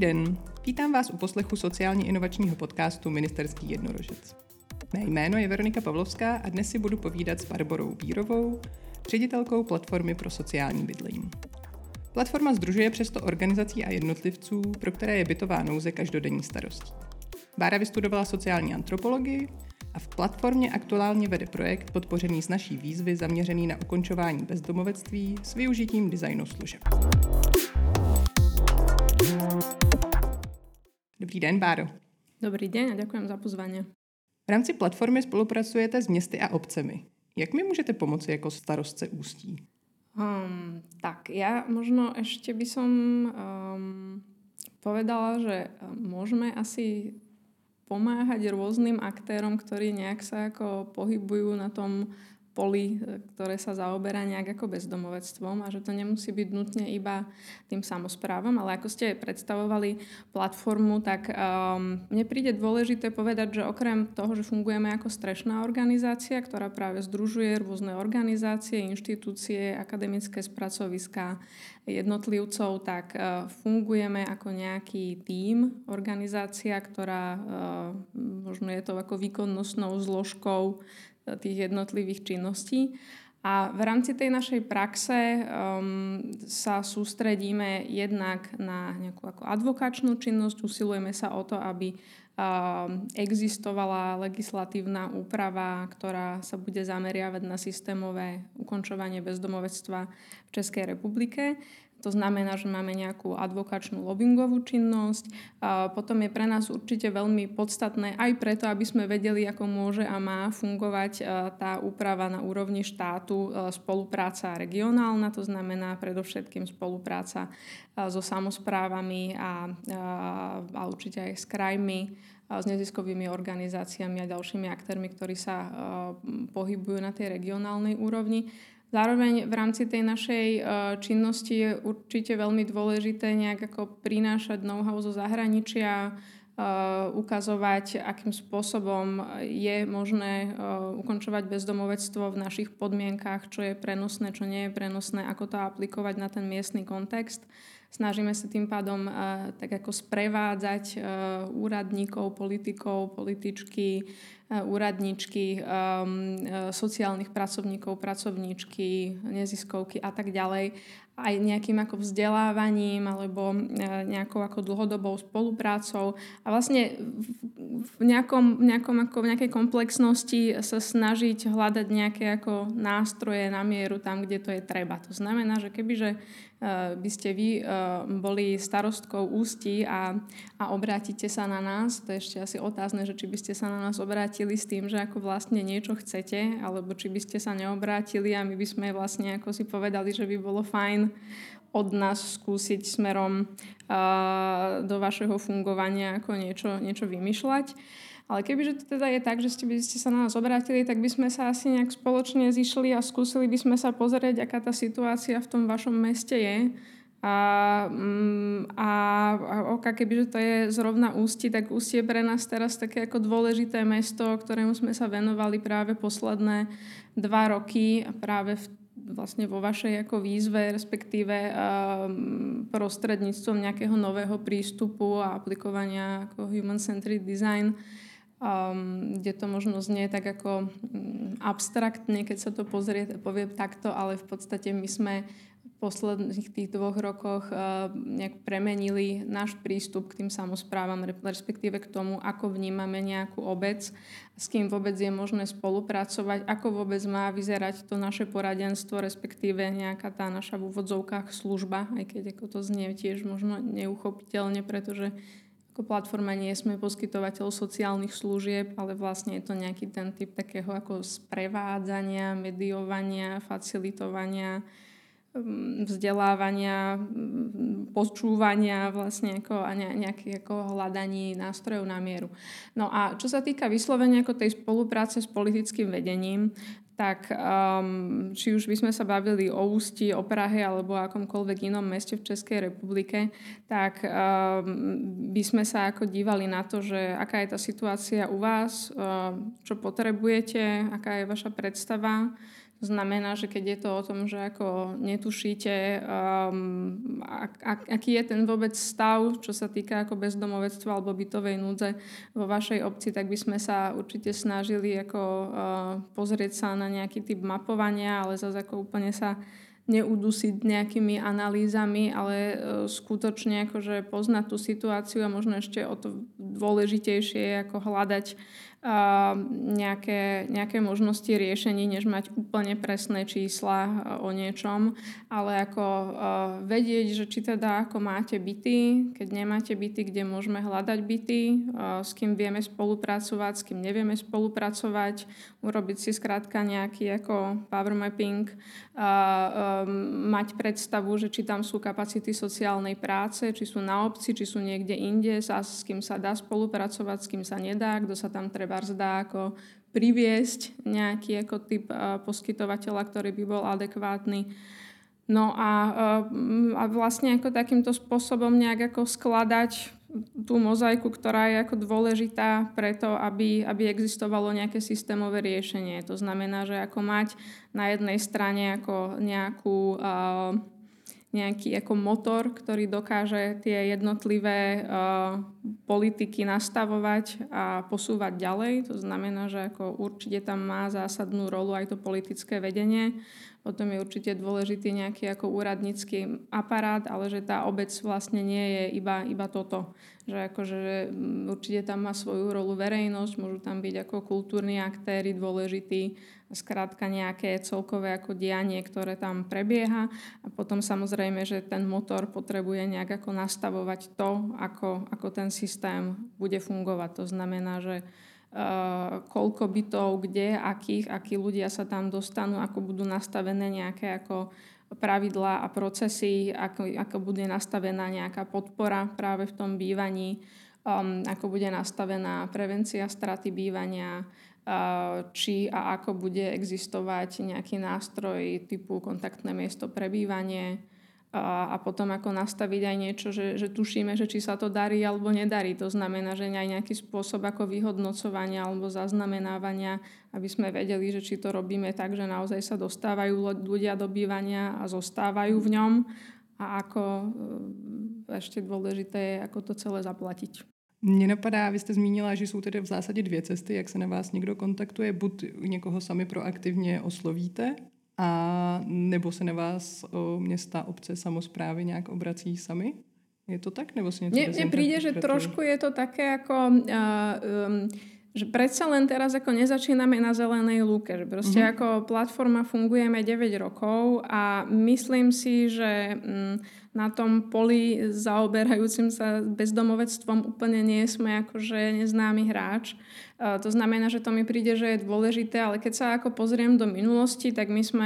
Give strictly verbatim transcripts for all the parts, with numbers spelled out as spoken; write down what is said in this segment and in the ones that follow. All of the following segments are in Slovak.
den, vítám vás u poslechu sociálně inovačního podcastu Ministerský jednorožec. Mé jméno je Veronika Pavlovská a dnes si budu povídat s Barborou Bírovou, ředitelkou Platformy pro sociální bydlení. Platforma sdružuje přes sto organizací a jednotlivců, pro které je bytová nouze každodenní starostí. Bára vystudovala sociální antropologii a v Platformě aktuálně vede projekt podpořený z naší výzvy zaměřený na ukončování bezdomovectví s využitím designu služeb. Dobrý den, Báro. Dobrý deň a ďakujem za pozvanie. V rámci Platformy spolupracujete s městy a obcemi. Jak mi můžete pomoci jako starostce Ústí? Um, tak, ja možno ešte by som um, povedala, že môžeme asi pomáhať rôznym aktérom, ktorí nejak sa ako pohybujú na tom poli, ktoré sa zaoberá nejak ako bezdomovectvom a že to nemusí byť nutne iba tým samosprávam, ale ako ste predstavovali platformu, tak um, mne príde dôležité povedať, že okrem toho, že fungujeme ako strešná organizácia, ktorá práve združuje rôzne organizácie, inštitúcie, akademické spracoviská, jednotlivcov, tak uh, fungujeme ako nejaký tím, organizácia, ktorá uh, možno je to ako výkonnostnou zložkou tých jednotlivých činností. A v rámci tej našej praxe um, sa sústredíme jednak na nejakú ako advokačnú činnosť, usilujeme sa o to, aby um, existovala legislatívna úprava, ktorá sa bude zameriavať na systémové ukončovanie bezdomovectva v Českej republike. To znamená, že máme nejakú advokačnú lobbyingovú činnosť. A potom je pre nás určite veľmi podstatné aj preto, aby sme vedeli, ako môže a má fungovať tá úprava na úrovni štátu, spolupráca regionálna, to znamená predovšetkým spolupráca so samosprávami a, a, a určite aj s krajmi, s neziskovými organizáciami a ďalšími aktérmi, ktorí sa pohybujú na tej regionálnej úrovni. Zároveň v rámci tej našej činnosti je určite veľmi dôležité nejak ako prinášať know-how zo zahraničia, ukazovať, akým spôsobom je možné ukončovať bezdomovectvo v našich podmienkach, čo je prenosné, čo nie je prenosné, ako to aplikovať na ten miestny kontext. Snažíme sa tým pádom tak ako sprevádzať úradníkov, politikov, političky, úradničky, sociálnych pracovníkov, pracovníčky, neziskovky a tak ďalej, aj nejakým ako vzdelávaním alebo nejakou ako dlhodobou spoluprácou a vlastne v nejakom, nejakom ako v nejakej komplexnosti sa snažiť hľadať nejaké ako nástroje na mieru tam, kde to je treba. To znamená, že kebyže by ste vy boli starostkou Ústí a, a obrátite sa na nás, to je ešte asi otázne, že či by ste sa na nás obrátili s tým, že ako vlastne niečo chcete, alebo či by ste sa neobrátili a my by sme vlastne ako si povedali, že by bolo fajn od nás skúsiť smerom uh, do vašeho fungovania ako niečo, niečo vymýšľať. Ale kebyže to teda je tak, že ste by ste sa na nás obrátili, tak by sme sa asi nejak spoločne zišli a skúsili by sme sa pozrieť, aká tá situácia v tom vašom meste je. A, a, a oka, kebyže to je zrovna Ústí, tak Ústí je pre nás teraz také ako dôležité mesto, ktorému sme sa venovali práve posledné dva roky a práve v vlastne vo vašej ako výzve, respektíve um, prostredníctvom nejakého nového prístupu a aplikovania ako human-centered design, um, kde to možno znie tak ako um, abstraktne, keď sa to pozrie, povie takto, ale v podstate my sme v posledných tých dvoch rokoch uh, nejak premenili náš prístup k tým samosprávam, respektíve k tomu, ako vnímame nejakú obec, s kým vôbec je možné spolupracovať, ako vôbec má vyzerať to naše poradenstvo, respektíve nejaká tá naša v úvodzovkách služba, aj keď ako to znie tiež možno neuchopiteľne, pretože ako platforma nie sme poskytovateľ sociálnych služieb, ale vlastne je to nejaký ten typ takého ako sprevádzania, mediovania, facilitovania, vzdelávania, počúvania vlastne ako, a nejakých ako hľadaní nástrojov na mieru. No a čo sa týka vyslovenia ako tej spolupráce s politickým vedením, tak um, či už by sme sa bavili o Ústí, o Prahe alebo o akomkoľvek inom meste v Českej republike, tak um, by sme sa ako dívali na to, že aká je tá situácia u vás, um, čo potrebujete, aká je vaša predstava, Znamená, že keď je to o tom, že ako netušíte, um, ak, ak, aký je ten vôbec stav, čo sa týka ako bezdomovectva alebo bytovej núdze vo vašej obci, tak by sme sa určite snažili ako uh, pozrieť sa na nejaký typ mapovania, ale zase ako úplne sa neudusiť nejakými analýzami, ale uh, skutočne akože poznať tú situáciu a možno ešte o to dôležitejšie je ako hľadať uh, nejaké, nejaké možnosti riešení, než mať úplne presné čísla uh, o niečom, ale ako uh, vedieť, že či teda ako máte byty, keď nemáte byty, kde môžeme hľadať byty, uh, s kým vieme spolupracovať, s kým nevieme spolupracovať, urobiť si skrátka nejaký ako power mapping, uh, mať predstavu, že či tam sú kapacity sociálnej práce, či sú na obci, či sú niekde inde, sa, s kým sa dá spolupracovať, s kým sa nedá, kto sa tam treba zdá ako priviesť nejaký ako typ uh, poskytovateľa, ktorý by bol adekvátny. No a, uh, a vlastne ako takýmto spôsobom nejak ako skladať tú mozaiku, ktorá je ako dôležitá preto, aby, aby existovalo nejaké systémové riešenie. To znamená, že ako mať na jednej strane ako nejakú, uh, nejaký ako motor, ktorý dokáže tie jednotlivé uh, politiky nastavovať a posúvať ďalej. To znamená, že ako určite tam má zásadnú rolu aj to politické vedenie. Potom je určite dôležitý nejaký ako úradnícky aparát, ale že tá obec vlastne nie je iba, iba toto. Že akože určite tam má svoju rolu verejnosť, môžu tam byť ako kultúrni aktéri dôležití, skrátka nejaké celkové ako dianie, ktoré tam prebieha. A potom samozrejme, že ten motor potrebuje nejak ako nastavovať to, ako, ako ten systém bude fungovať. To znamená, že Uh, koľko bytov, kde, akých, akí ľudia sa tam dostanú, ako budú nastavené nejaké ako pravidlá a procesy, ako, ako bude nastavená nejaká podpora práve v tom bývaní, um, ako bude nastavená prevencia straty bývania, uh, či a ako bude existovať nejaký nástroj typu kontaktné miesto pre bývanie, a potom ako nastaviť aj niečo, že, že tušíme, že či sa to darí alebo nedarí. To znamená, že aj nejaký spôsob ako vyhodnocovania alebo zaznamenávania, aby sme vedeli, že či to robíme tak, že naozaj sa dostávajú ľudia do bývania a zostávajú v ňom a ako ešte dôležité je, ako to celé zaplatiť. Mně napadá, vy jste zmínila, že jsou tedy v zásadě dvě cesty, jak se na vás někdo kontaktuje. Buď někoho sami proaktivně oslovíte, a nebo se na vás o, města, obce, samosprávy nějak obrací sami? Je to tak? Nebo si něco Mne príde, že trošku je to také ako... Uh, um, že predsa len teraz ako nezačíname na zelenej lúke. Že proste uh-huh. ako platforma fungujeme deväť rokov a myslím si, že um, na tom poli zaoberajúcim sa bezdomovectvom úplne nie sme akože neznámy hráč. Uh, to znamená, že to mi príde, že je dôležité, ale keď sa ako pozriem do minulosti, tak my sme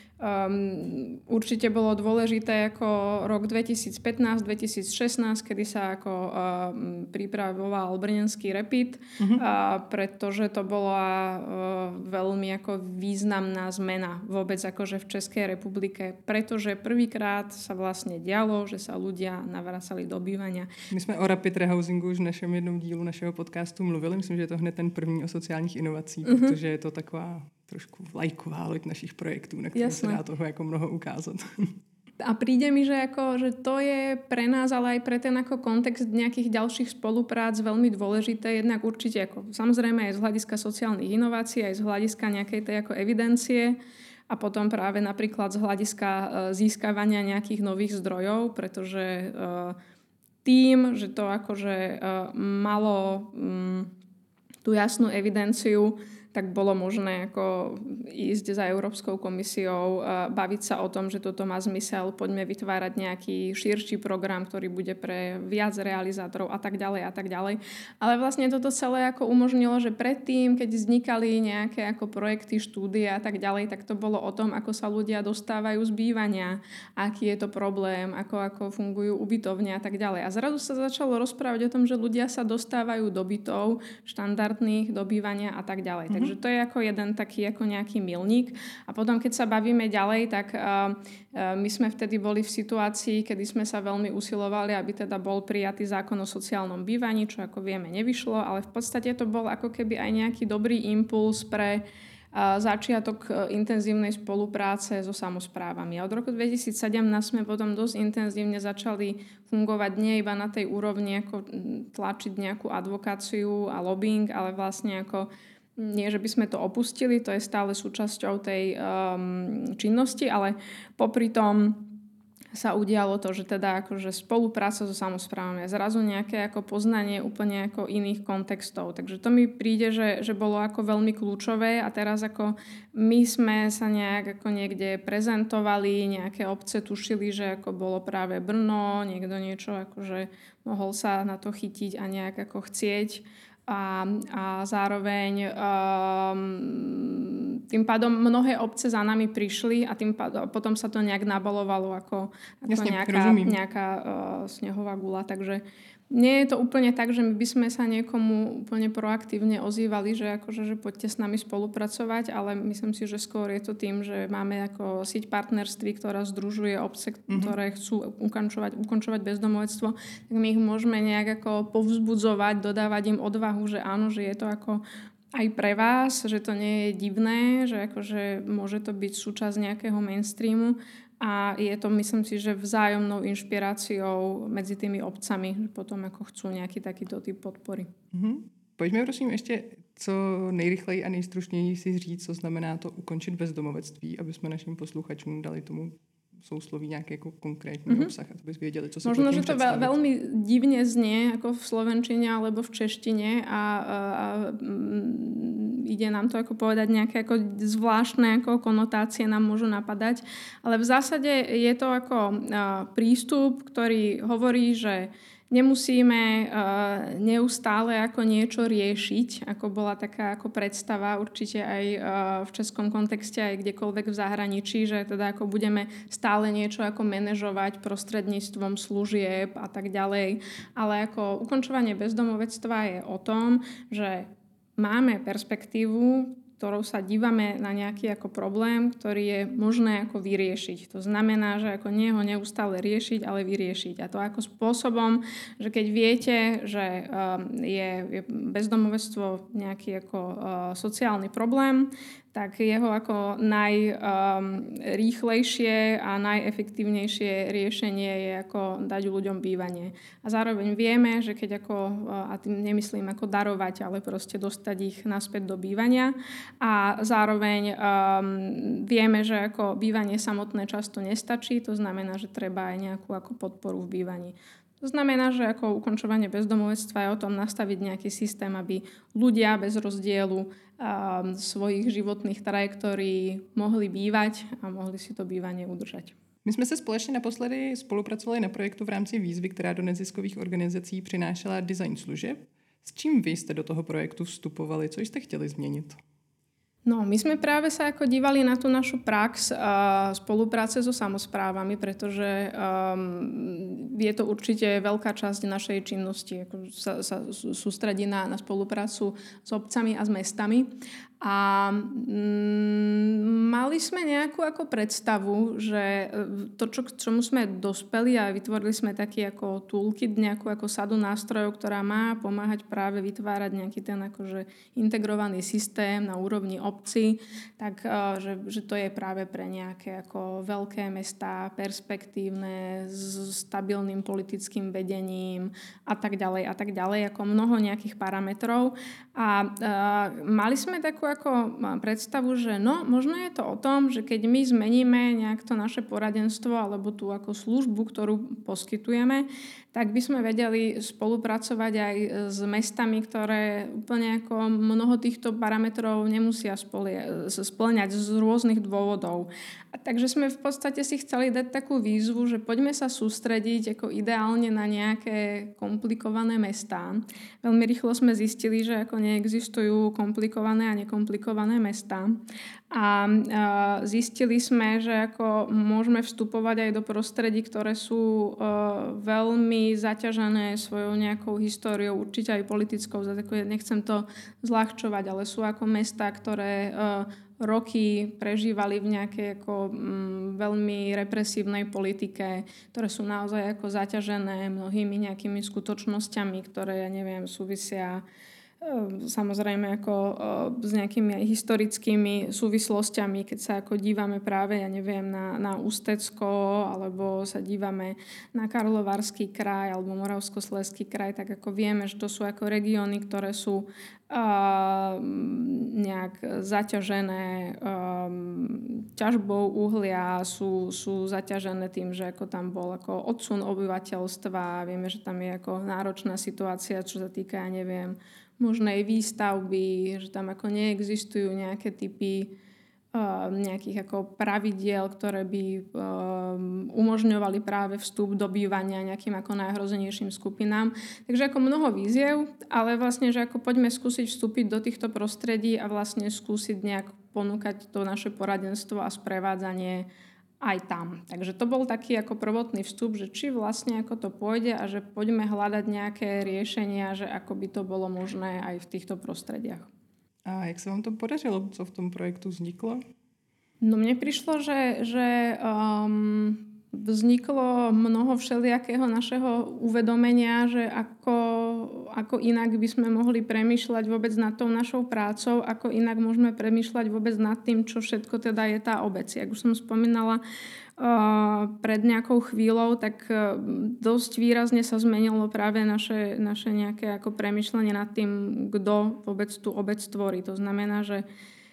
Um, určite bolo dôležité ako rok dvetisícpätnásť dvetisícšestnásť, kedy sa ako um, pripravoval brněnský Rapid, uh-huh. uh, pretože to bola uh, veľmi ako významná zmena vôbec akože v Českej republike, pretože prvýkrát sa vlastne dialo, že sa ľudia navracali do bývania. My jsme o Rapid Rehousingu už v našem jednom dílu našeho podcastu mluvili. Myslím, že je to hned ten první o sociálních inovacích, uh-huh. protože je to taková trošku vlajková loď našich projektů, na které se dá toho jako mnoho ukázat. A príde mi, že, ako, že to je pre nás, ale aj pre ten ako kontext nejakých ďalších spoluprác veľmi dôležité. Jednak určite, ako, samozrejme aj z hľadiska sociálnych inovácií, aj z hľadiska nejakej tej ako evidencie a potom práve napríklad z hľadiska uh, získavania nejakých nových zdrojov, pretože uh, tým, že to akože uh, malo um, tú jasnú evidenciu, tak bolo možné ako ísť za Európskou komisiou, baviť sa o tom, že toto má zmysel, poďme vytvárať nejaký širší program, ktorý bude pre viac realizátorov a tak ďalej a tak ďalej. Ale vlastne toto celé ako umožnilo, že predtým, keď vznikali nejaké ako projekty, štúdie a tak ďalej, tak to bolo o tom, ako sa ľudia dostávajú z bývania, aký je to problém, ako, ako fungujú ubytovne a tak ďalej. A zrazu sa začalo rozprávať o tom, že ľudia sa dostávajú do bytov štandardných, do bývania a tak ďalej. Mm-hmm. Takže to je ako jeden taký ako nejaký milník. A potom, keď sa bavíme ďalej, tak uh, uh, my sme vtedy boli v situácii, kedy sme sa veľmi usilovali, aby teda bol prijatý zákon o sociálnom bývaní, čo ako vieme nevyšlo, ale v podstate to bol ako keby aj nejaký dobrý impuls pre začiatok intenzívnej spolupráce so samosprávami. A od roku dvetisícsedemnásť sme potom dosť intenzívne začali fungovať nie iba na tej úrovni, ako tlačiť nejakú advokáciu a lobbying, ale vlastne ako nie, že by sme to opustili, to je stále súčasťou tej um, činnosti, ale popri tom sa udialo to, že teda akože spolupráca so samosprávami a zrazu nejaké ako poznanie úplne ako iných kontextov. Takže to mi príde, že, že bolo ako veľmi kľúčové a teraz ako my sme sa nejak ako niekde prezentovali, nejaké obce tušili, že ako bolo práve Brno, niekto niečo akože mohol sa na to chytiť a nejak ako chcieť. A, a zároveň um, tým pádom mnohé obce za nami prišli a tým pádom, potom sa to nejak nabalovalo ako, ako Jasne, nejaká, nejaká uh, snehová gula. Takže nie je to úplne tak, že my by sme sa niekomu úplne proaktívne ozývali, že, akože, že poďte s nami spolupracovať, ale myslím si, že skôr je to tým, že máme ako sieť partnerství, ktorá združuje obce, mm-hmm. ktoré chcú ukončovať, ukončovať bezdomovectvo, tak my ich môžeme nejak ako povzbudzovať, dodávať im odvahu, že áno, že je to ako aj pre vás, že to nie je divné, že akože môže to byť súčasť nejakého mainstreamu. A je to, myslím si, že vzájomnou inšpiráciou medzi tými obcami, že potom ako chcú nejaký takýto typ podpory. Mm-hmm. Pojďme prosím ještě co nejrychleji a nejstručněji si říct, co znamená to ukončit bezdomovectví, aby jsme našim posluchačům dali tomu sousloví nějaký jako konkrétní mm-hmm. obsah, aby věděli, co si Možno, že to veľ, veľmi divne znie ako v slovenčine alebo v češtine a, a, a ide nám to ako povedať nejaké ako zvláštne ako konotácie nám môžu napadať, ale v zásade je to ako a, prístup, ktorý hovorí, že nemusíme uh, neustále ako niečo riešiť, ako bola taká ako predstava určite aj uh, v českom kontexte, aj kdekoľvek v zahraničí, že teda ako budeme stále niečo ako manažovať prostredníctvom služieb a tak ďalej. Ale ako ukončovanie bezdomovectva je o tom, že máme perspektívu, ktorou sa dívame na nejaký ako problém, ktorý je možné ako vyriešiť. To znamená, že ako nie ho neustále riešiť, ale vyriešiť. A to ako spôsobom, že keď viete, že je bezdomovectvo nejaký ako sociálny problém, tak jeho ako najrýchlejšie a najefektívnejšie riešenie je ako dať ľuďom bývanie. A zároveň vieme, že keď ako, a tým nemyslím ako darovať, ale proste dostať ich naspäť do bývania. A zároveň um, vieme, že ako bývanie samotné často nestačí, to znamená, že treba aj nejakú ako podporu v bývaní. To znamená, že ako ukončovanie bezdomovectva je o tom nastaviť nejaký systém, aby ľudia bez rozdielu um, svojich životných trajektórií mohli bývať a mohli si to bývanie udržať. My jsme se společně naposledy spolupracovali na projektu v rámci výzvy, která do neziskových organizací přinášela design služeb. S čím vy jste do toho projektu vstupovali? Co jste chtěli změnit? No, my sme práve sa ako dívali na tú našu prax a spolupráce so samosprávami, pretože um, je to určite veľká časť našej činnosti, ako sa, sa sústredí na, na spoluprácu s obcami a s mestami. A mm, mali sme nejakú ako predstavu, že to, čo, k čomu sme dospeli a vytvorili sme taký ako toolkit, nejakú ako sadu nástrojov, ktorá má pomáhať práve vytvárať nejaký ten akože integrovaný systém na úrovni obci, tak že, že to je práve pre nejaké ako veľké mestá, perspektívne, s stabilným politickým vedením a tak ďalej a tak ďalej, ako mnoho nejakých parametrov. A, a mali sme takú ako predstavu, že no, možno je to o tom, že keď my zmeníme nejak to naše poradenstvo alebo tú ako službu, ktorú poskytujeme, tak by sme vedeli spolupracovať aj s mestami, ktoré úplne ako mnoho týchto parametrov nemusia spĺňať z rôznych dôvodov. A takže sme v podstate si chceli dať takú výzvu, že poďme sa sústrediť ako ideálne na nejaké komplikované mestá. Veľmi rýchlo sme zistili, že ako neexistujú komplikované a nekomplikované mestá. A zistili sme, že ako môžeme vstupovať aj do prostredí, ktoré sú veľmi zaťažené svojou nejakou históriou, určite aj politickou, nechcem to zľahčovať, ale sú ako mestá, ktoré roky prežívali v nejakej ako, mm, veľmi represívnej politike, ktoré sú naozaj ako zaťažené mnohými nejakými skutočnosťami, ktoré, ja neviem, súvisia samozrejme ako s nejakými aj historickými súvislostiami, keď sa ako dívame práve, ja neviem, na, na Ústecko, alebo sa dívame na Karlovarský kraj alebo Moravskoslezský kraj, tak ako vieme, že to sú ako regióny, ktoré sú uh, nejak zaťažené um, ťažbou uhlia, sú, sú zaťažené tým, že ako tam bol ako odsun obyvateľstva, vieme, že tam je ako náročná situácia, čo sa týka, ja neviem, možnej výstavby, že tam ako neexistujú nejaké typy uh, nejakých ako pravidiel, ktoré by um, umožňovali práve vstup do bývania nejakým ako najhrozenejším skupinám. Takže ako mnoho víziev, ale vlastne, že ako poďme skúsiť vstúpiť do týchto prostredí a vlastne skúsiť nejak ponúkať to naše poradenstvo a sprevádzanie aj tam. Takže to bol taký ako prvotný vstup, že či vlastne ako to pôjde a že poďme hľadať nejaké riešenia, že ako by to bolo možné aj v týchto prostrediach. A jak sa vám to podařilo? Co v tom projektu vzniklo? No mne prišlo, že, že um, vzniklo mnoho všelijakého našeho uvedomenia, že ako, ako inak by sme mohli premýšľať vôbec nad tou našou prácou, ako inak môžeme premýšľať vôbec nad tým, čo všetko teda je tá obec. Jak už som spomínala uh, pred nejakou chvíľou, tak uh, dosť výrazne sa zmenilo práve naše, naše nejaké ako premýšľanie nad tým, kto vôbec tú obec tvorí. To znamená, že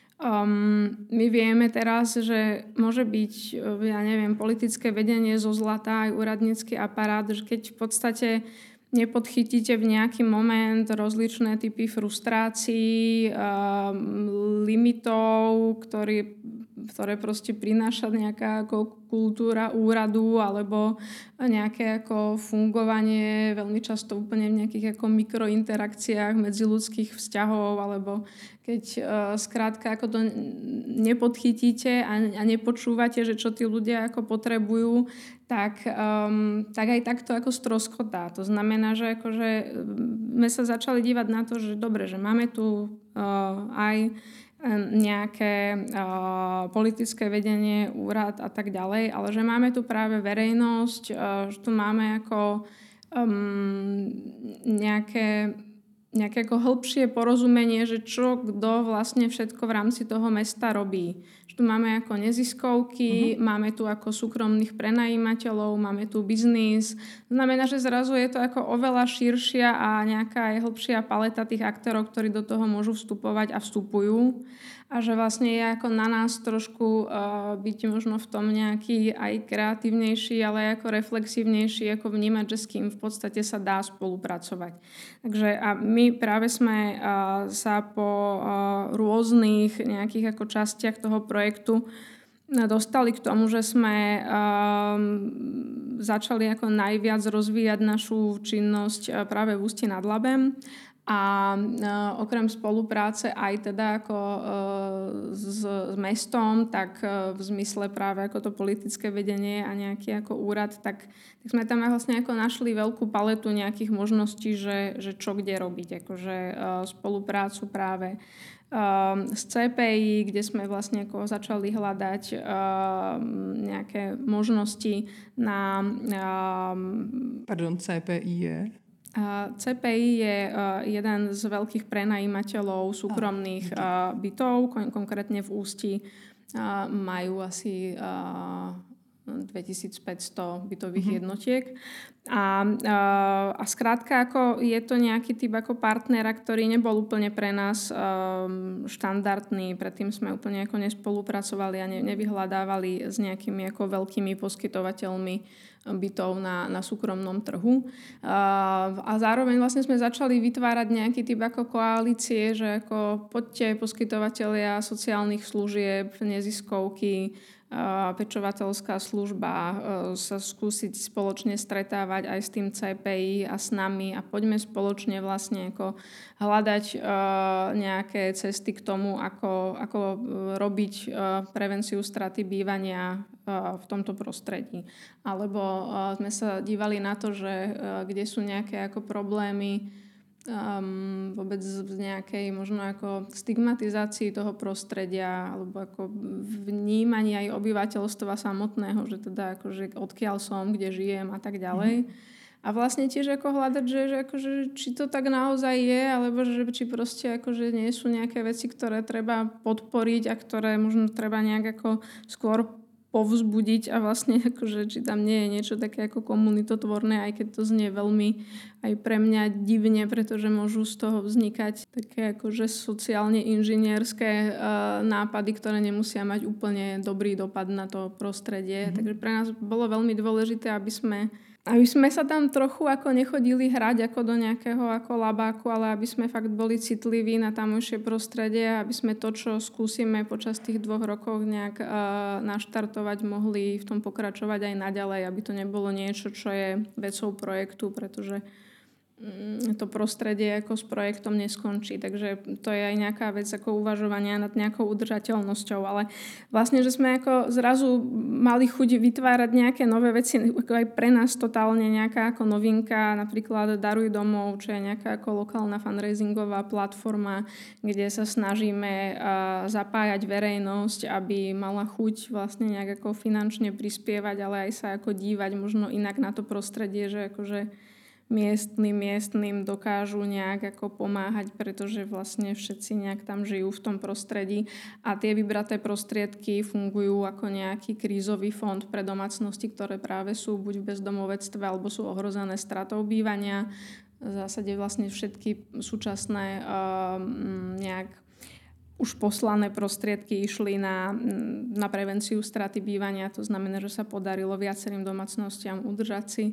Um, my vieme teraz, že môže byť, ja neviem, politické vedenie zo zlata aj úradnícky aparát, že keď v podstate nepodchytíte v nejaký moment rozličné typy frustrácií, um, limitov, ktorý, ktoré proste prináša nejaká ako kultúra úradu alebo nejaké ako fungovanie veľmi často úplne v nejakých ako mikrointerakciách medziľudských vzťahov alebo keď uh, skrátka ako to nepodchytíte a, a nepočúvate, že čo tí ľudia ako potrebujú, tak, um, tak aj takto ako stroskotá. To znamená, že akože sme sa začali dívať na to, že dobre, že máme tu uh, aj nejaké uh, politické vedenie, úrad a tak ďalej, ale že máme tu práve verejnosť, uh, že tu máme ako um, nejaké nejaké ako hĺbšie porozumenie, že čo kto vlastne všetko v rámci toho mesta robí. Že tu máme ako neziskovky, uh-huh. máme tu ako súkromných prenajímateľov, máme tu biznis. Znamená, že zrazu je to ako oveľa širšia a nejaká aj hĺbšia paleta tých aktérov, ktorí do toho môžu vstupovať a vstupujú. A že vlastne je ako na nás trošku uh, byť možno v tom nejaký aj kreatívnejší, ale aj ako reflexívnejší, ako vnímať, že s kým v podstate sa dá spolupracovať. Takže a my práve sme uh, sa po uh, rôznych nejakých ako častiach toho projektu dostali k tomu, že sme um, začali ako najviac rozvíjať našu činnosť uh, práve v Ústí nad Labem. A e, okrem spolupráce aj teda ako e, s, s mestom, tak e, v zmysle práve ako to politické vedenie a nejaký ako úrad, tak, tak sme tam vlastne ako našli veľkú paletu nejakých možností, že, že čo kde robiť. Akože e, spoluprácu práve e, s cé pé í, kde sme vlastne ako začali hľadať e, nejaké možnosti na... E, Pardon, cé pé í je... cé pé í je jeden z veľkých prenajímateľov súkromných bytov, kon- konkrétne v Ústí majú asi dvetisícpäťsto bytových mm-hmm. jednotiek. A, a, a skrátka ako je to nejaký typ ako partnera, ktorý nebol úplne pre nás um, štandardný. Predtým sme úplne ako nespolupracovali a ne, nevyhľadávali s nejakými ako veľkými poskytovateľmi bytov na, na súkromnom trhu. A, a zároveň vlastne sme začali vytvárať nejaký typ ako koalície, že ako poďte poskytovatelia sociálnych služieb, neziskovky, pečovateľská služba, sa skúsiť spoločne stretávať aj s tým cé pé í a s nami a poďme spoločne vlastne ako hľadať nejaké cesty k tomu, ako, ako robiť prevenciu straty bývania v tomto prostredí. Alebo sme sa dívali na to, že kde sú nejaké ako problémy Um, vôbec v nejakej možno ako stigmatizácii toho prostredia alebo ako vnímaní aj obyvateľstva samotného, že teda akože odkiaľ som, kde žijem a tak ďalej. Mm. A vlastne tiež ako hľadať, že, že akože, či to tak naozaj je, alebo že či proste akože nie sú nejaké veci, ktoré treba podporiť a ktoré možno treba nejak ako skôr povzbudiť a vlastne akože, či tam nie je niečo také ako komunitotvorné, aj keď to znie veľmi aj pre mňa divne, pretože môžu z toho vznikať také akože sociálne inžinierské uh, nápady, ktoré nemusia mať úplne dobrý dopad na to prostredie. Mm-hmm. Takže pre nás bolo veľmi dôležité, aby sme Aby sme sa tam trochu ako nechodili hrať ako do nejakého ako labáku, ale aby sme fakt boli citliví na tamojšie prostredie, aby sme to, čo skúsime počas tých dvoch rokov nejak uh, naštartovať, mohli v tom pokračovať aj naďalej, aby to nebolo niečo, čo je vecou projektu, pretože to prostredie ako s projektom neskončí. Takže to je aj nejaká vec ako uvažovania nad nejakou udržateľnosťou. Ale vlastne, že sme ako zrazu mali chuť vytvárať nejaké nové veci, ako aj pre nás totálne nejaká ako novinka, napríklad Daruj domov, čo je nejaká ako lokálna fundraisingová platforma, kde sa snažíme zapájať verejnosť, aby mala chuť vlastne nejak ako finančne prispievať, ale aj sa ako dívať možno inak na to prostredie, že akože miestnym, miestnym dokážu nejak ako pomáhať, pretože vlastne všetci nejak tam žijú v tom prostredí a tie vybraté prostriedky fungujú ako nejaký krízový fond pre domácnosti, ktoré práve sú buď v bezdomovectve alebo sú ohrozené stratou bývania. V zásade vlastne všetky súčasné uh, nejak už poslané prostriedky išli na, na prevenciu straty bývania. To znamená, že sa podarilo viacerým domácnostiam udržať si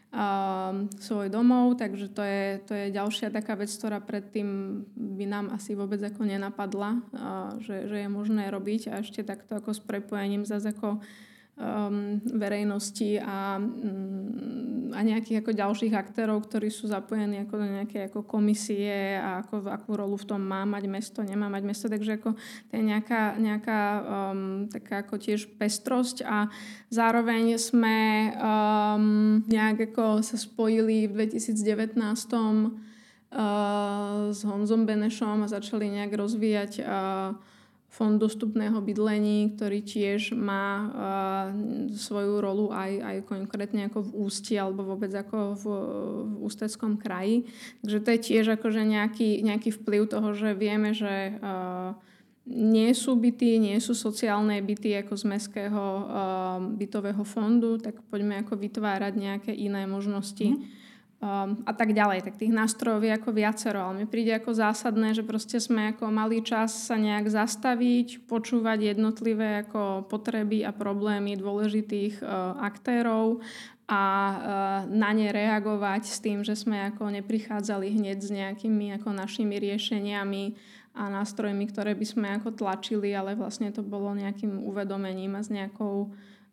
Uh, svoj domov, takže to je, to je ďalšia taká vec, ktorá predtým by nám asi vôbec ako nenapadla, uh, že, že je možné robiť a ešte takto ako s prepojením zase ako um, verejnosti a, um, a nejakých ako ďalších aktérov, ktorí sú zapojení ako do nejaké ako komisie a ako, akú rolu v tom má mať mesto, nemá mať mesto, takže ako to je nejaká, nejaká um, taká ako tiež pestrosť a zároveň sme um, nejak ako sa spojili v dvetisícdevätnásť uh, s Honzom Benešom a začali nejak rozvíjať uh, Fond dostupného bydlení, ktorý tiež má uh, svoju rolu aj, aj konkrétne ako v Ústí alebo vôbec ako v, v Ústeckom kraji. Takže to je tiež akože nejaký, nejaký vplyv toho, že vieme, že uh, nie sú byty, nie sú sociálne byty ako z mestského uh, bytového fondu, tak poďme ako vytvárať nejaké iné možnosti. Mm. Um, a tak ďalej. Tak tých nástrojov je ako viacero, ale mi príde ako zásadné, že proste sme ako mali čas sa nejak zastaviť, počúvať jednotlivé ako potreby a problémy dôležitých uh, aktérov a uh, na ne reagovať s tým, že sme ako neprichádzali hneď s nejakými ako našimi riešeniami a nástrojmi, ktoré by sme ako tlačili, ale vlastne to bolo nejakým uvedomením a s nejakou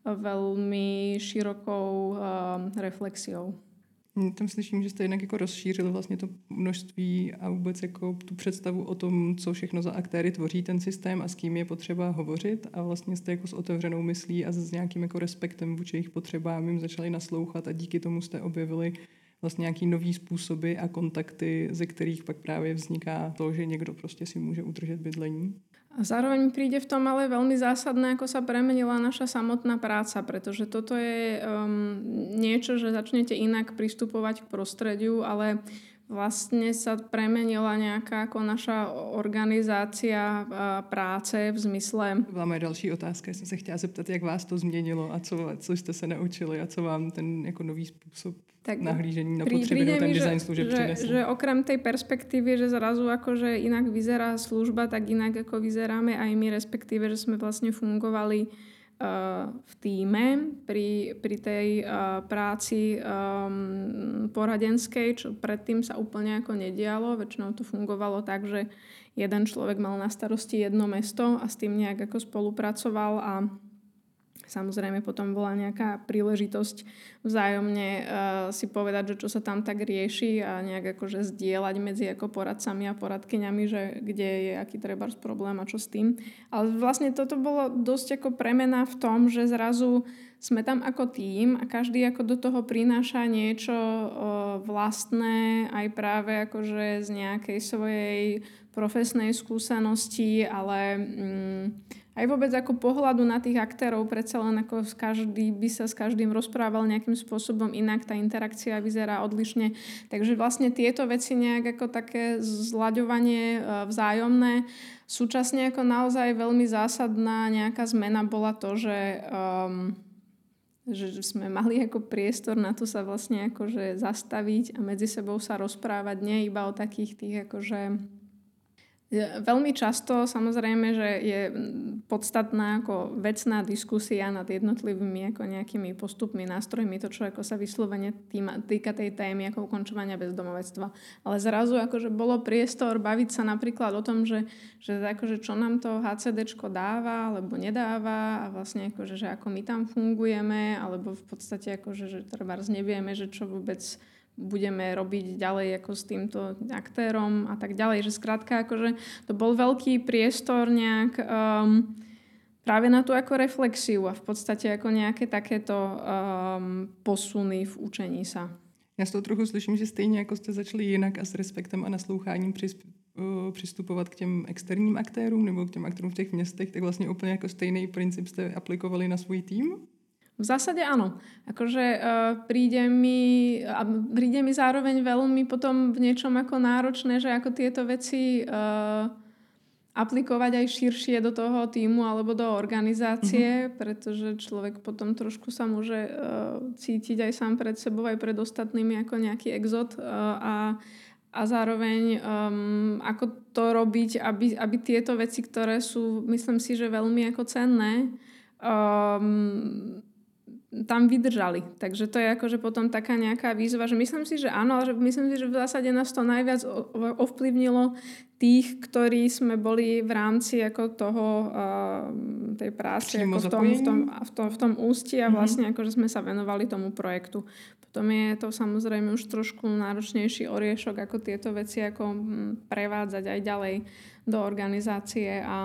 veľmi širokou uh, reflexiou. Tam slyším, že jste jednak jako rozšířili vlastně to množství a vůbec jako tu představu o tom, co všechno za aktéry tvoří ten systém a s kým je potřeba hovořit a vlastně jste jako s otevřenou myslí a s nějakým jako respektem vůči jejich potřebám jim začali naslouchat a díky tomu jste objevili vlastně nějaký nový způsoby a kontakty, ze kterých pak právě vzniká to, že někdo prostě si může udržet bydlení. A zároveň mi príde v tom ale veľmi zásadné, ako sa premenila naša samotná práca, pretože toto je um, niečo, že začnete inak pristupovať k prostrediu, ale vlastne sa premenila nejaká ako naša organizácia práce v zmysle... To byla moje další otázka. Já jsem se chtěla zeptat, jak vás to změnilo a co, co jste se naučili a co vám ten jako nový způsob tak nahlížení na potřeby do ten design služeb že, přinesl. Že okrem tej perspektívy, že zrazu akože inak vyzerá služba, tak inak ako vyzeráme aj my, respektíve, že sme vlastne fungovali v tíme pri, pri tej uh, práci um, poradenskej, čo predtým sa úplne ako nedialo. Väčšinou to fungovalo tak, že jeden človek mal na starosti jedno mesto a s tým nejak ako spolupracoval a samozrejme potom bola nejaká príležitosť vzájomne uh, si povedať, že čo sa tam tak rieši a nejak akože zdieľať medzi ako poradcami a poradkyňami, že kde je aký trebárs problém a čo s tým. Ale vlastne toto bolo dosť ako premena v tom, že zrazu sme tam ako tím a každý ako do toho prináša niečo uh, vlastné, aj práve akože z nejakej svojej profesnej skúsenosti, ale um, aj vôbec ako pohľadu na tých aktérov, predsa len ako každý by sa s každým rozprával nejakým spôsobom inak, tá interakcia vyzerá odlišne. Takže vlastne tieto veci nejak ako také zlaďovanie vzájomné. Súčasne ako naozaj veľmi zásadná nejaká zmena bola to, že, um, že sme mali ako priestor na to sa vlastne akože zastaviť a medzi sebou sa rozprávať, nie iba o takých tých akože veľmi často samozrejme, že je podstatná ako vecná diskusia nad jednotlivými ako nejakými postupmi, nástrojmi, to čo ako sa vyslovene týma, týka tej témy ako ukončovania bezdomovectva. Ale zrazu akože bolo priestor baviť sa napríklad o tom, že, že akože čo nám to HCDčko dáva alebo nedáva a vlastne akože, že ako my tam fungujeme alebo v podstate akože, že trebárs nevieme, že čo vôbec budeme robiť ďalej ako s týmto aktérom a tak ďalej. Že skrátka akože to bol veľký priestor nejak um, práve na tú ako reflexiu a v podstate ako nejaké takéto um, posuny v učení sa. Já z toho trochu slyším, že stejně jako jste začali jinak a s respektem a nasloucháním přistupovat k těm externím aktérům nebo k těm aktérům v těch městech, tak vlastně úplně jako stejný princip jste aplikovali na svůj tým? V zásade áno. Akože uh, príde mi a príde mi zároveň veľmi potom v niečom ako náročné, že ako tieto veci uh, aplikovať aj širšie do toho týmu alebo do organizácie, mm-hmm. pretože človek potom trošku sa môže uh, cítiť aj sám pred sebou, aj pred ostatnými ako nejaký exot uh, a a zároveň um, ako to robiť, aby, aby tieto veci, ktoré sú, myslím si, že veľmi ako cenné, um, tam vydržali. Takže to je akože potom taká nejaká výzva, že myslím si, že áno, ale že myslím si, že v zásade nás to najviac ovplyvnilo tých, ktorí sme boli v rámci ako toho uh, tej práce ako v, tom, v, tom, v, tom, v tom ústi a vlastne mm-hmm. akože sme sa venovali tomu projektu. Potom je to samozrejme už trošku náročnejší oriešok, ako tieto veci ako prevádzať aj ďalej do organizácie a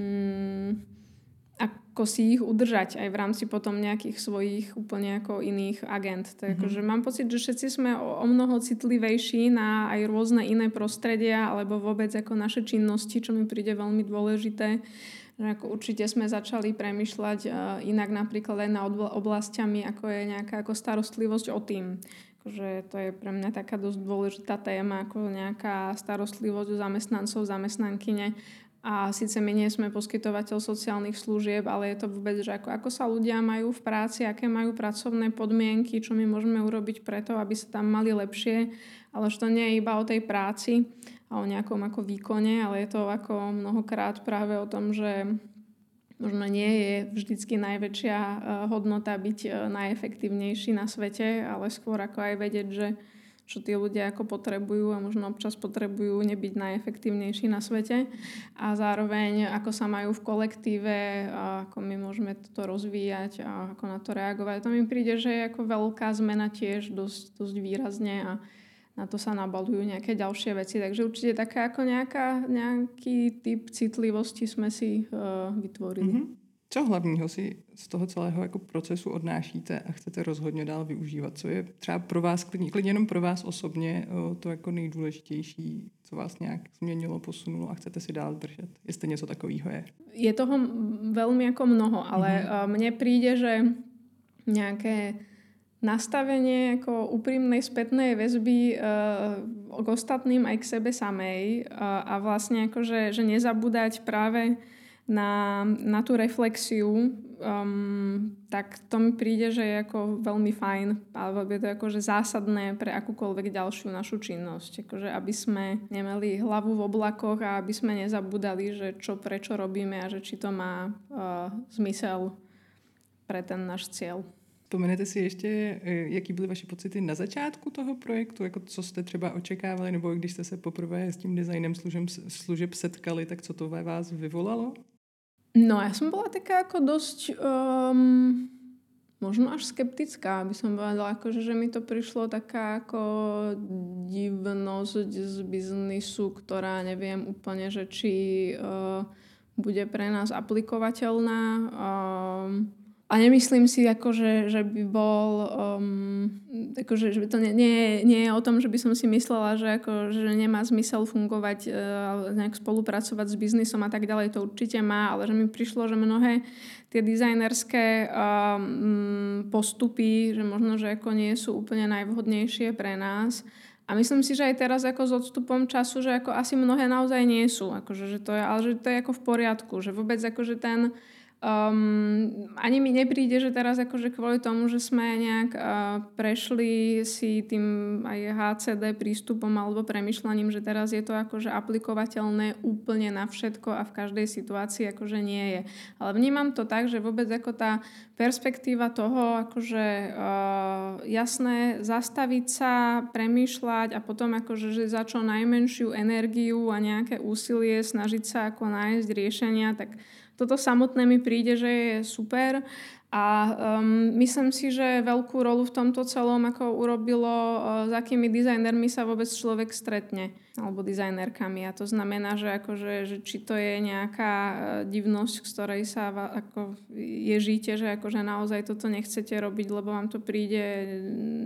mm, ako si ich udržať aj v rámci potom nejakých svojich úplne ako iných agent. Takže mm-hmm. mám pocit, že všetci sme o, o mnoho citlivejší na aj rôzne iné prostredia alebo vôbec ako naše činnosti, čo mi príde veľmi dôležité. Že ako určite sme začali premýšľať uh, inak napríklad aj nad oblastiami, ako je nejaká ako starostlivosť o tým. Akože to je pre mňa taká dosť dôležitá téma, ako nejaká starostlivosť o zamestnancov, zamestnankyne. A síce my nie sme poskytovateľ sociálnych služieb, ale je to vôbec, že ako, ako sa ľudia majú v práci, aké majú pracovné podmienky, čo my môžeme urobiť preto, aby sa tam mali lepšie. Ale že to nie je iba o tej práci a o nejakom ako výkone, ale je to ako mnohokrát práve o tom, že možno nie je vždycky najväčšia hodnota byť najefektívnejší na svete, ale skôr ako aj vedieť, že čo tí ľudia ako potrebujú a možno občas potrebujú nebyť najefektívnejší na svete a zároveň ako sa majú v kolektíve a ako my môžeme toto rozvíjať a ako na to reagovať. To mi príde, že je ako veľká zmena tiež dosť, dosť výrazne a na to sa nabalujú nejaké ďalšie veci. Takže určite taká ako nejaká, nejaký typ citlivosti sme si uh, vytvorili. Mm-hmm. Co hlavního si z toho celého jako procesu odnášíte a chcete rozhodně dál využívat? Co je třeba pro vás, klidně, klidně jenom pro vás osobně, to jako nejdůležitější, co vás nějak změnilo, posunulo a chcete si dál držet? Jestli něco takového je. Je toho veľmi ako mnoho, ale mm-hmm. mne príde, že nejaké nastavenie ako úprimnej spätnej väzby uh, k ostatným aj k sebe samej uh, a vlastne akože, že nezabúdať práve na, na tú reflexiu, um, tak to mi príde, že je ako veľmi fajn, alebo je to akože zásadné pre akúkoľvek ďalšiu našu činnosť. Akože aby sme nemali hlavu v oblakoch a aby sme nezabúdali, že čo prečo robíme a že či to má uh, zmysel pre ten náš cieľ. Vzpomenete si ještě, jaký byly vaše pocity na začátku toho projektu? Jako co jste třeba očekávali, nebo když jste se poprvé s tím designem služeb, služeb setkali, tak co to ve vás vyvolalo? No, ja som bola taká ako dosť um, možno až skeptická, by som povedala, akože, že mi to prišlo taká ako divnosť z biznisu, ktorá neviem úplne, že či uh, bude pre nás aplikovateľná. Um, A nemyslím si, akože, že by bol, um, akože, že by to nie, nie, nie je o tom, že by som si myslela, že, ako, že nemá zmysel fungovať, uh, nejak spolupracovať s biznisom a tak ďalej, to určite má, ale že mi prišlo, že mnohé tie dizajnerské um, postupy, že možno, že ako nie sú úplne najvhodnejšie pre nás. A myslím si, že aj teraz ako s odstupom času, že ako asi mnohé naozaj nie sú, akože, že to je, ale že to je ako v poriadku, že vôbec akože ten Um, ani mi nepríde, že teraz akože kvôli tomu, že sme nejak uh, prešli si tým aj há cé dé prístupom alebo premyšľaním, že teraz je to akože aplikovateľné úplne na všetko a v každej situácii akože nie je. Ale vnímam to tak, že vôbec ako tá perspektíva toho, akože uh, jasné, zastaviť sa, premýšľať a potom akože že za čo najmenšiu energiu a nejaké úsilie snažiť sa ako nájsť riešenia, tak toto samotné mi príde, že je super a um, myslím si, že veľkú rolu v tomto celom ako urobilo, uh, s akými dizajnermi sa vôbec človek stretne, alebo dizajnerkami. A to znamená, že, akože, že či to je nejaká uh, divnosť, z ktorej sa va, ako ježíte, že akože naozaj toto nechcete robiť, lebo vám to príde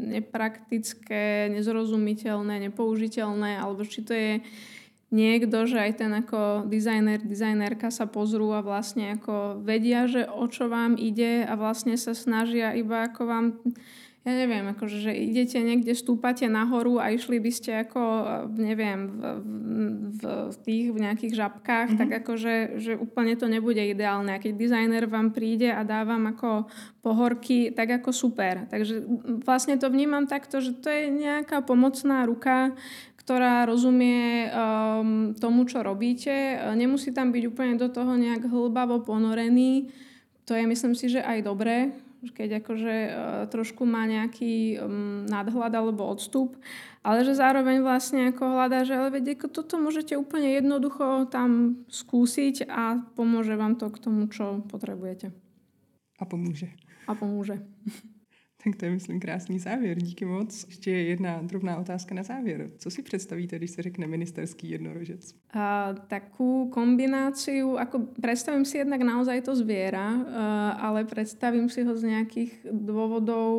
nepraktické, nezrozumiteľné, nepoužiteľné, alebo či to je niekto, že aj ten ako dizajner, dizajnerka sa pozrú a vlastne ako vedia, že o čo vám ide a vlastne sa snažia iba ako vám, ja neviem, akože, že idete niekde, stúpate nahoru a išli by ste ako, neviem, v, v, v tých, v nejakých žabkách, mm-hmm. tak akože, že úplne to nebude ideálne. A keď dizajner vám príde a dá vám ako pohorky, tak ako super. Takže vlastne to vnímam takto, že to je nejaká pomocná ruka, ktorá rozumie um, tomu, čo robíte. Nemusí tam byť úplne do toho nejak hlbavo ponorený. To je, myslím si, že aj dobré, keď akože uh, trošku má nejaký um, nadhľad alebo odstup, ale že zároveň vlastne ako hľadá, že ale veď, ako toto môžete úplne jednoducho tam skúsiť a pomôže vám to k tomu, čo potrebujete. A pomůže. A pomůže. Tak to je, myslím, krásný závěr. Díky moc. Ještě jedna drobná otázka na závěr. Co si představíte, když se řekne ministerský jednorožec? A, takú kombináciu, ako predstavím si jednak naozaj to zviera, a, ale predstavím si ho z nejakých dôvodov,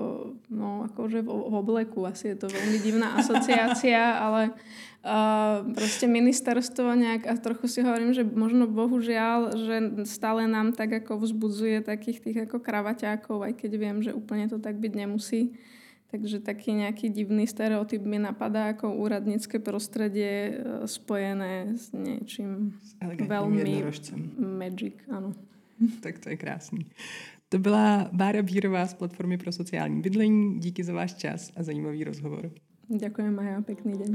no akože v, v obleku. Asi je to veľmi divná asociácia, ale Uh, proste ministerstvo nejak, a trochu si hovorím, že možno bohužiaľ, že stále nám tak ako vzbudzuje takých tých ako kravaťákov, aj keď viem, že úplne to tak byť nemusí. Takže taký nejaký divný stereotyp mi napadá ako úradnícke prostredie spojené s niečím veľmi magic, áno. Tak to je krásný. To byla Bára Bírová z Platformy pro sociální bydlení. Díky za váš čas a zajímavý rozhovor. Ďakujem, Maja, pekný deň.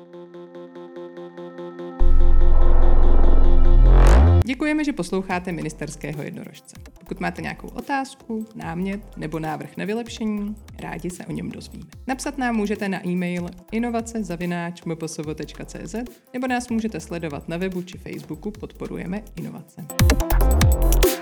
Děkujeme, že posloucháte Ministerského jednorožce. Pokud máte nějakou otázku, námět nebo návrh na vylepšení, rádi se o něm dozvíme. Napsat nám můžete na e-mail inovace zavináč m p s v tečka c z nebo nás můžete sledovat na webu či Facebooku Podporujeme inovace.